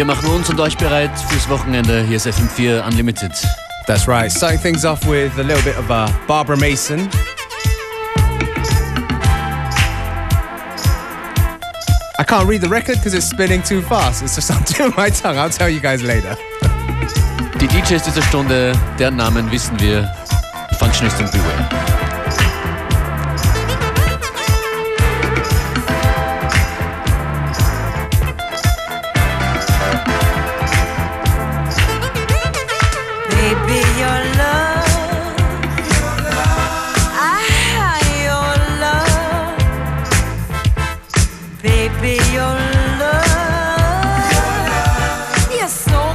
machen uns und euch bereit fürs Wochenende. Hier ist FM4 Unlimited. That's right. Starting things off with a little bit of Barbara Mason. I can't read the record because it's spinning too fast. It's just on my tongue. I'll tell you guys later. Die DJs dieser Stunde, deren Namen wissen wir. Functionist und Beware.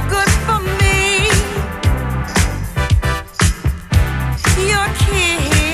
Your kiss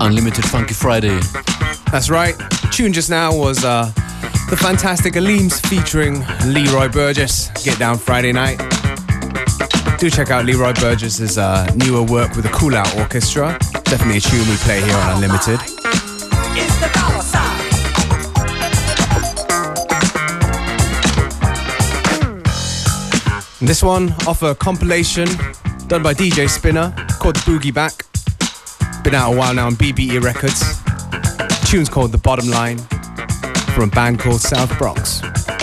Unlimited Funky Friday. That's right. Tune just now was the fantastic Aleems featuring Leroy Burgess, Get Down Friday Night. Do check out Leroy Burgess's newer work with the Cool Out Orchestra. Definitely a tune we play here on Unlimited. And this one off a compilation done by DJ Spinner called The Boogie Back. Been out a while now on BBE Records. The tune's called The Bottom Line from a band called South Bronx.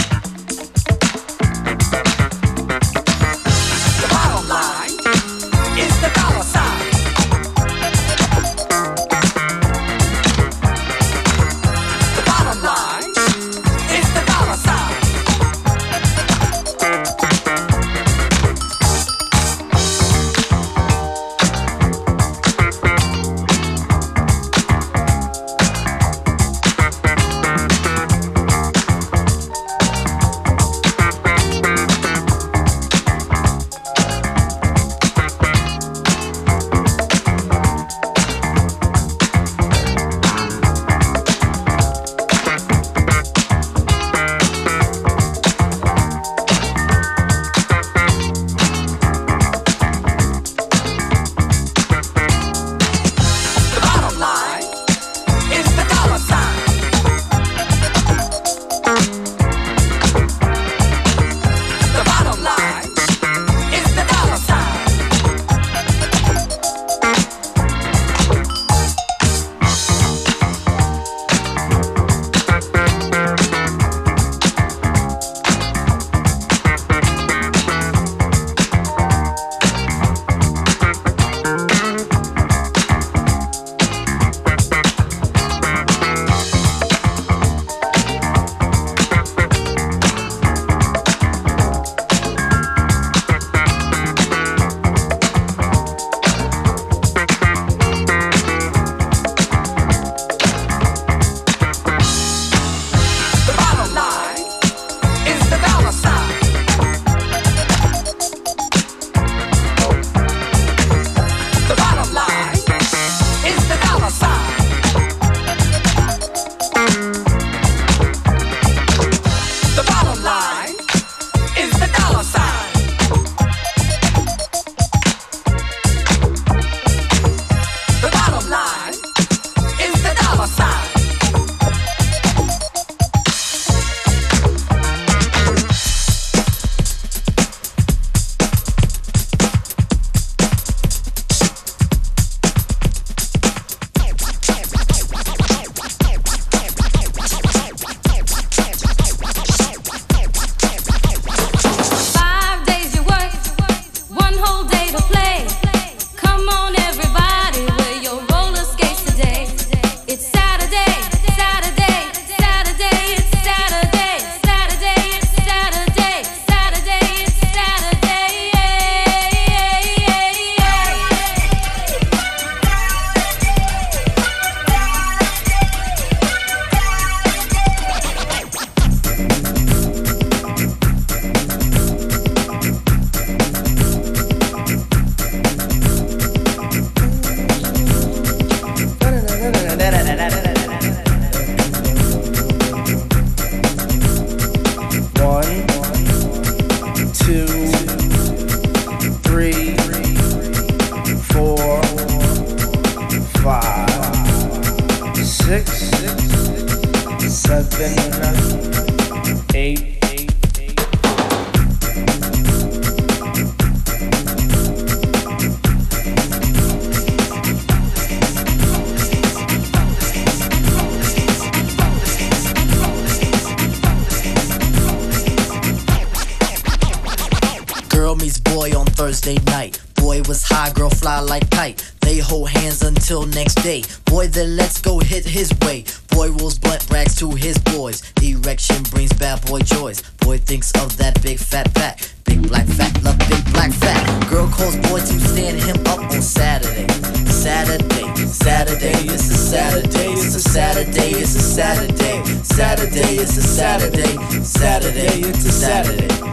Thursday night. Boy was high, girl fly like kite. They hold hands until next day. Boy, then let's go hit his way. Boy rolls blunt rags to his boys. Erection brings bad boy joys. Boy thinks of that big fat back. Big black fat, love big black fat. Girl calls boy to stand him up on Saturday. Saturday, Saturday, it's a Saturday, it's a Saturday, it's a Saturday. Saturday, it's a Saturday, Saturday, it's a Saturday. Back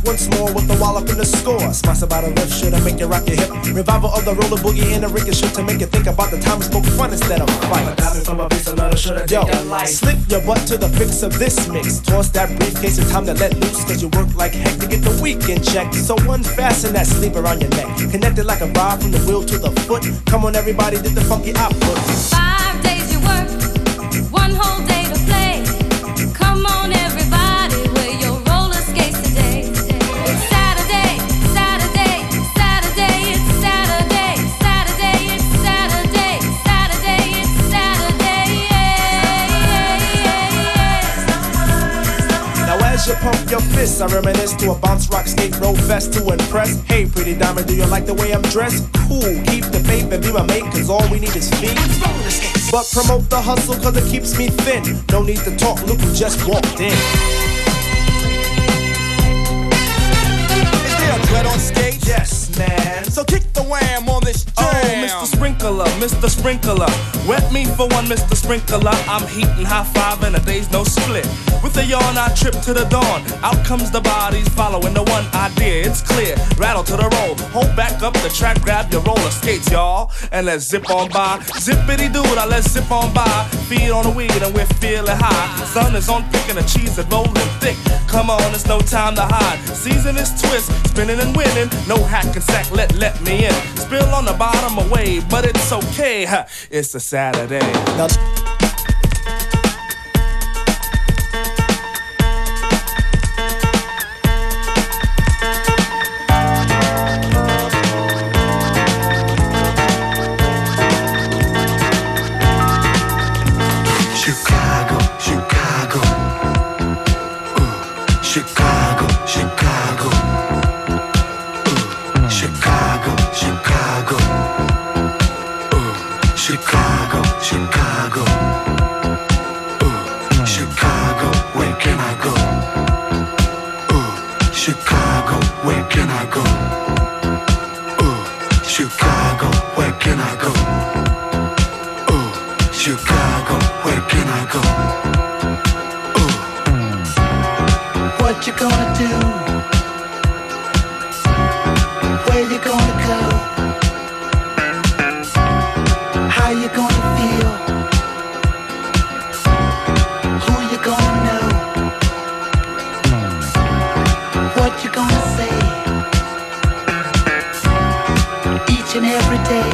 once more with the wallop in the score. Smash about a left should make you rock your hip. Revival of the roller boogie in the ricochet to make you think about the time we spoke fun instead of fight. Yo, slip your butt to the fix of this mix. Toss that briefcase, it's time to let loose, cause you work like heck to get the weekend check. So unfasten that sleeve around your neck. Connected like a rod from the wheel to the foot. Come on everybody, did the funky output. 5 days you work, 1 whole day to play. Come on everybody, wear your roller skates today. It's Saturday, Saturday, Saturday, it's Saturday, Saturday, it's Saturday, Saturday, it's Saturday, yeah. Now as you pump your fists, I reminisce to a bounce rock skate roll fest to impress. Hey pretty diamond, do you like the way I'm dressed? Cool, keep the faith and be my mate, cause all we need is feet. But promote the hustle cause it keeps me thin. No need to talk, look who just walked in. Is there a threat on stage? Yes, man. So kick the wham on this jam. Oh, Mr. Sprinkler, Mr. Sprinkler. Wet me for one, Mr. Sprinkler. I'm heating high five and a day's no split. With a yawn, I trip to the dawn. Out comes the bodies following the one idea. It's clear, rattle to the roll. Hold back up the track, grab your roller skates, y'all. And let's zip on by. Zippity doo, now let's zip on by. Feed on the weed and we're feeling high. Sun is on picking the cheese and rolling thick. Come on, it's no time to hide. Season is twist, spinning and winning. No hack and sack, let me in. Spill on the bottom away, but it's okay. It's a Saturday. Now Chicago, Chicago, Chicago, Chicago, Chicago, Chicago, Chicago, Chicago, Chicago, where can I go? Chicago, where can I go? Chicago, where can I go? Chicago, where can I go? What you gonna do? Where you gonna go? How you gonna feel? Who you gonna know? What you gonna say? Each and every day.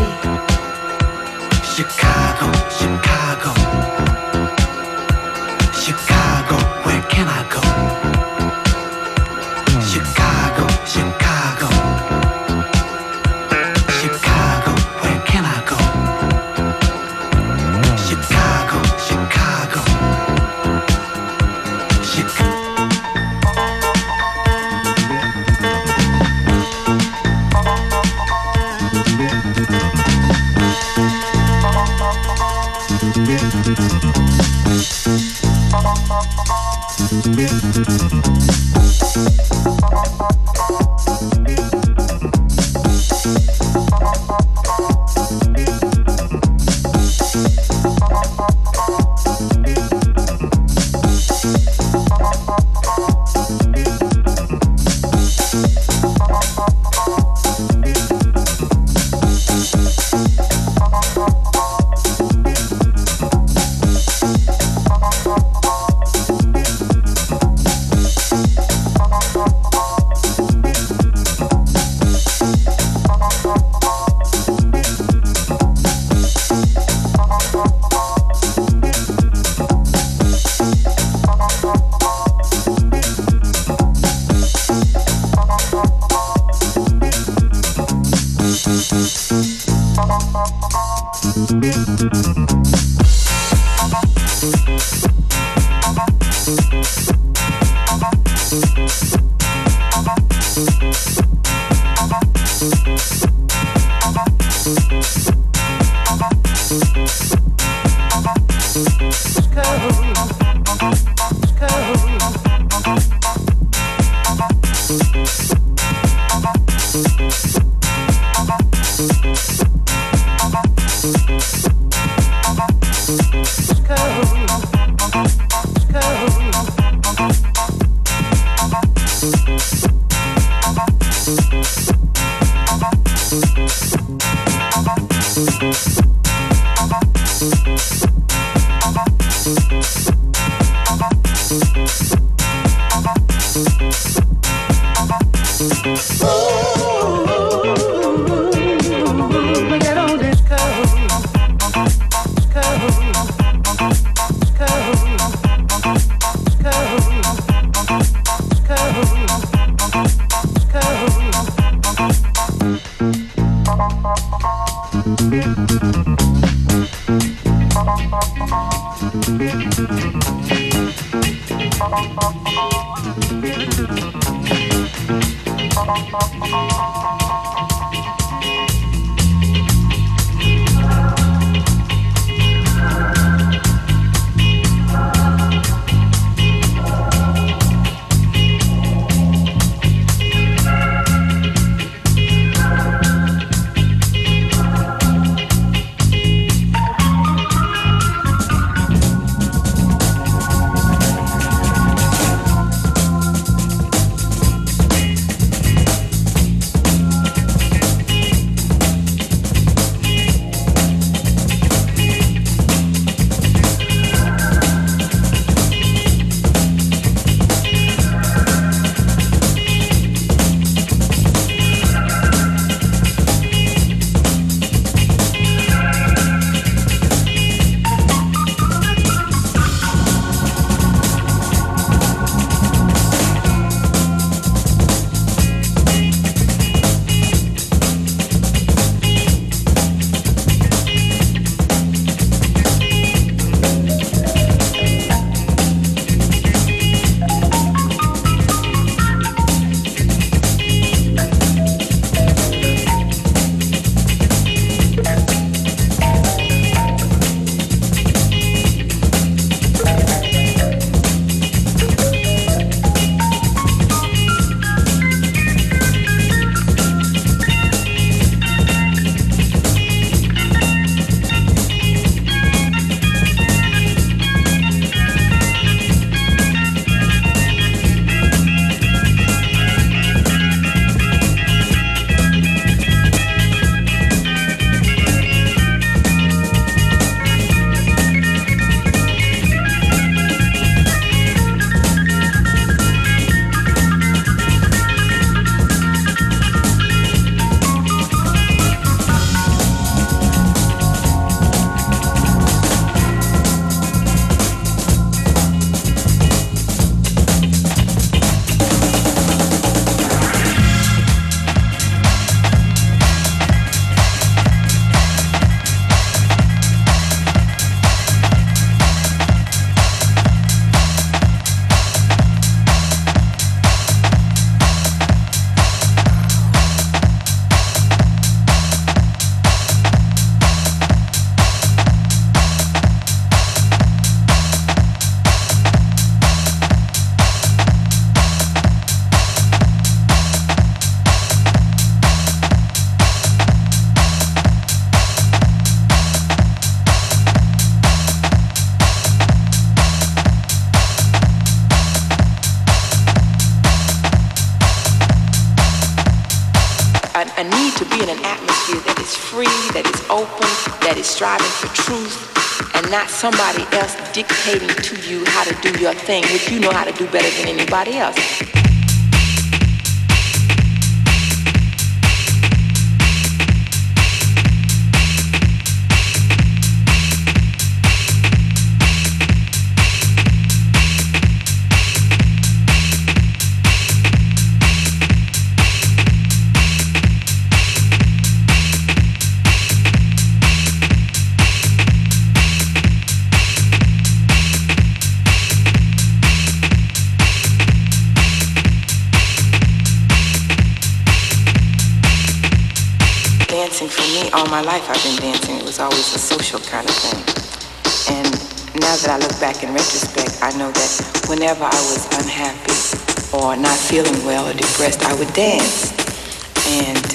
Chicago, Chicago, Chicago, where can I go? Chicago, Chicago, Chicago, where can I go? Chicago, Chicago, Chicago. a need to be in an atmosphere that is free, that is open, that is striving for truth, and not somebody else dictating to you how to do your thing, which you know how to do better than anybody else. For me, all my life I've been dancing. It was always a social kind of thing. And now that I look back in retrospect, I know that whenever I was unhappy or not feeling well or depressed, I would dance. And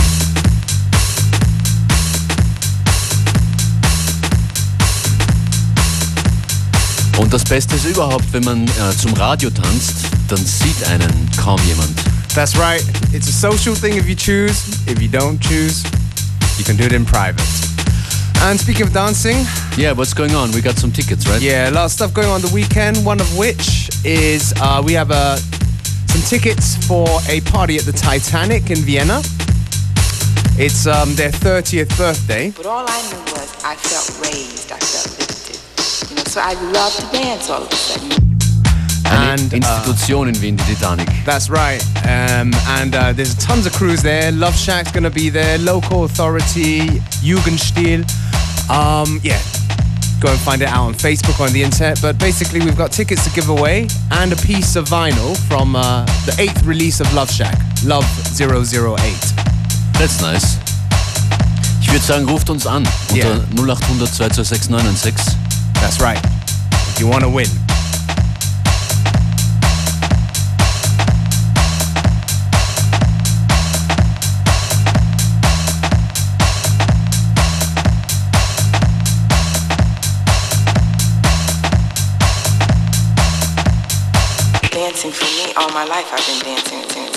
Und das Beste ist überhaupt, wenn man zum Radio tanzt, dann sieht einen kaum jemand. That's right. It's a social thing if you choose. If you don't choose, you can do it in private. And speaking of dancing... Yeah, what's going on? We got some tickets, right? Yeah, a lot of stuff going on the weekend, one of which is we have a some tickets for a party at the Titanic in Vienna. It's their 30th birthday. But all I knew was I felt raised, I felt lifted. You know, so I love to dance all of a sudden. Eine Institution in Wien, die Titanic. That's right. And there's tons of crews there. Love Shack's gonna be there. Local Authority, Jugendstil. Yeah, go and find it out on Facebook or on the internet. But basically, we've got tickets to give away and a piece of vinyl from the 8th release of Love Shack, Love 008. That's nice. Ich würde sagen, ruft uns an unter 0800 226 996. That's right. If you want to win. Dancing for me, all my life I've been dancing.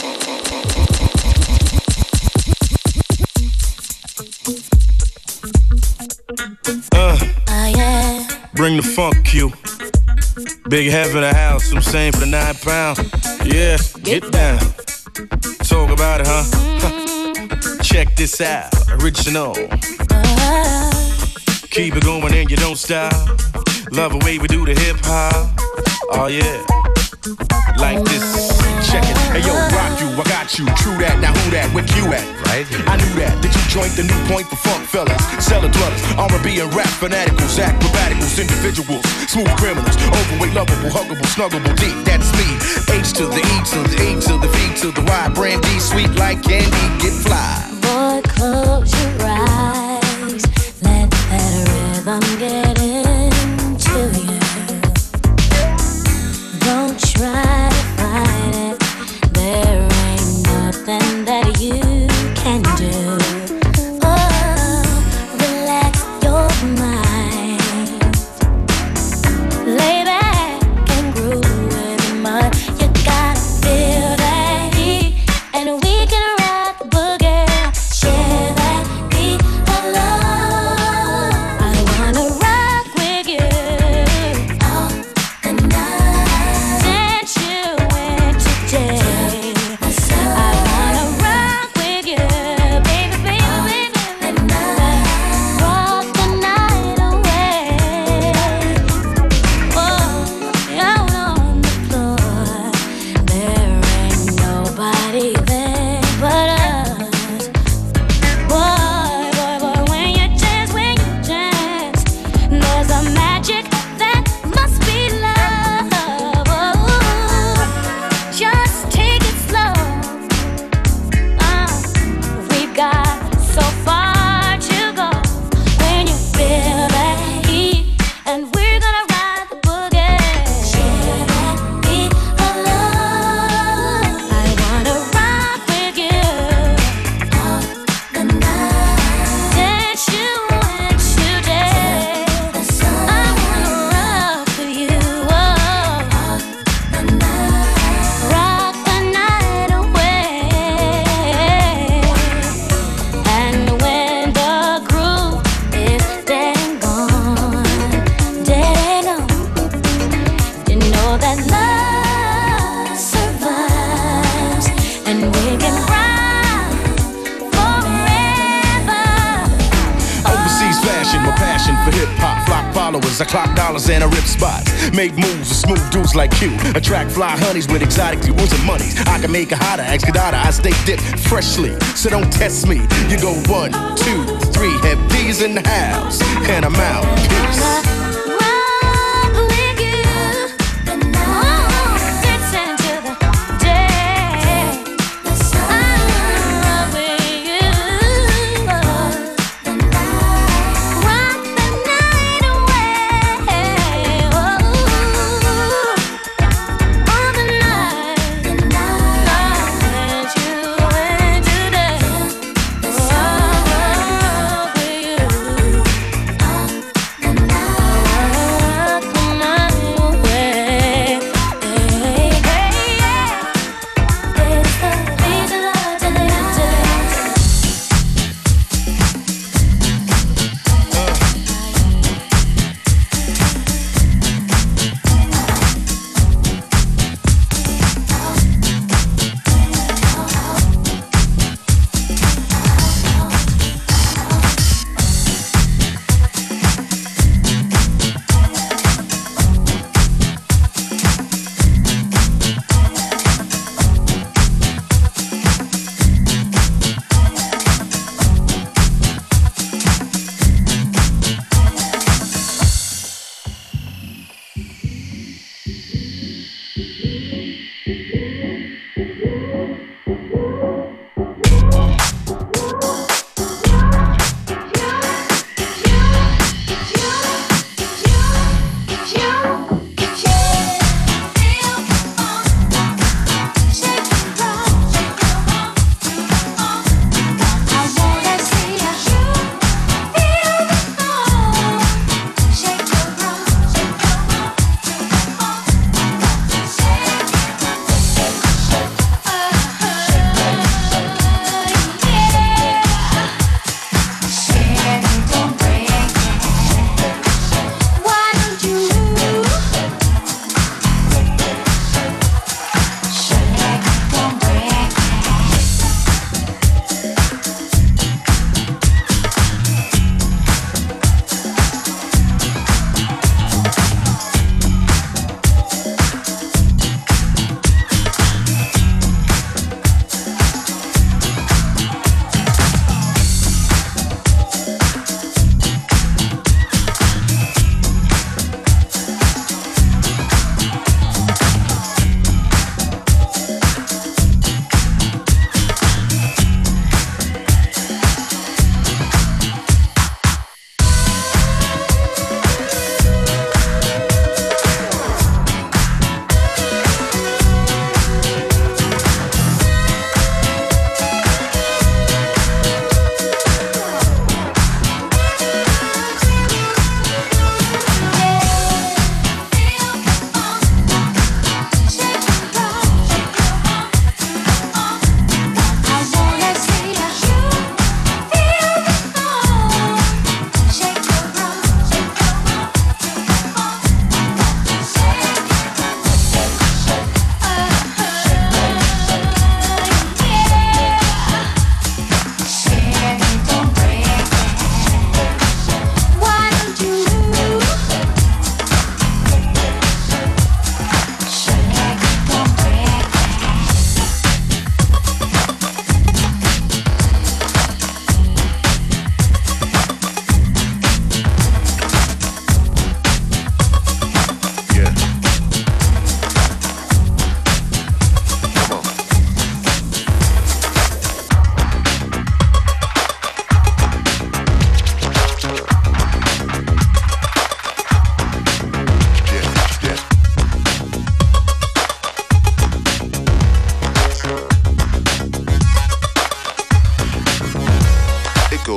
Bring the funk cue. Big head for the house, I'm saying for the 9 pound. Yeah, get down. Talk about it, huh? Check this out, original. Keep it going and you don't stop. Love the way we do the hip hop. Oh yeah. Like this, check it. Hey yo, rock you, I got you. True that, now who that? Where Q at? Right. I knew that. Did you join the new point for funk fellas? Cellar dwellers, R&B and rap fanaticals, acrobaticals, individuals, smooth criminals, overweight, lovable, huggable, snuggable, deep. That's me. H to the E to the E to the V to the Y. Brandy, sweet like candy, get fly. Boy, close your eyes. Let that rhythm get into you. Don't try to fight it. There ain't nothing that you can do. Oh, relax your mind. Lay back and groove with the mind. You gotta feel that heat, and we can rock the boogie. Share that beat of love. I wanna rock with you all the night. Dance you into day. I wanna rock with you, baby, baby, baby. Rock the night away. Oh, out on the floor. There ain't nobody there but us. Boy, boy, boy, when you dance, there's a magic that must be love. Oh, just take it slow. We've got so far to go. When you feel that heat, and we're gonna ride the boogie. Share that beat of love. I wanna rock with you all the night. Dance you into day. I wanna rock with you all the night. Rock the night away. And when the groove is dead and gone, you know that love survives, and we can ride forever. Overseas fashion, my passion for hip hop. Flock followers, I clock dollars and I rip spots. Make moves with smooth dudes like you. Attract fly honeys with exotic jewels and monies. I can make a hotter, ask Kadada. I stay dipped freshly, so don't test me. You go 1, 2, 3, have D's in the house, and I'm out. Peace. Rock with you, dancing till the day. I rock with you, rock the night away. All the night, dance you into day. Rock with you.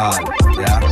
Fall, ja.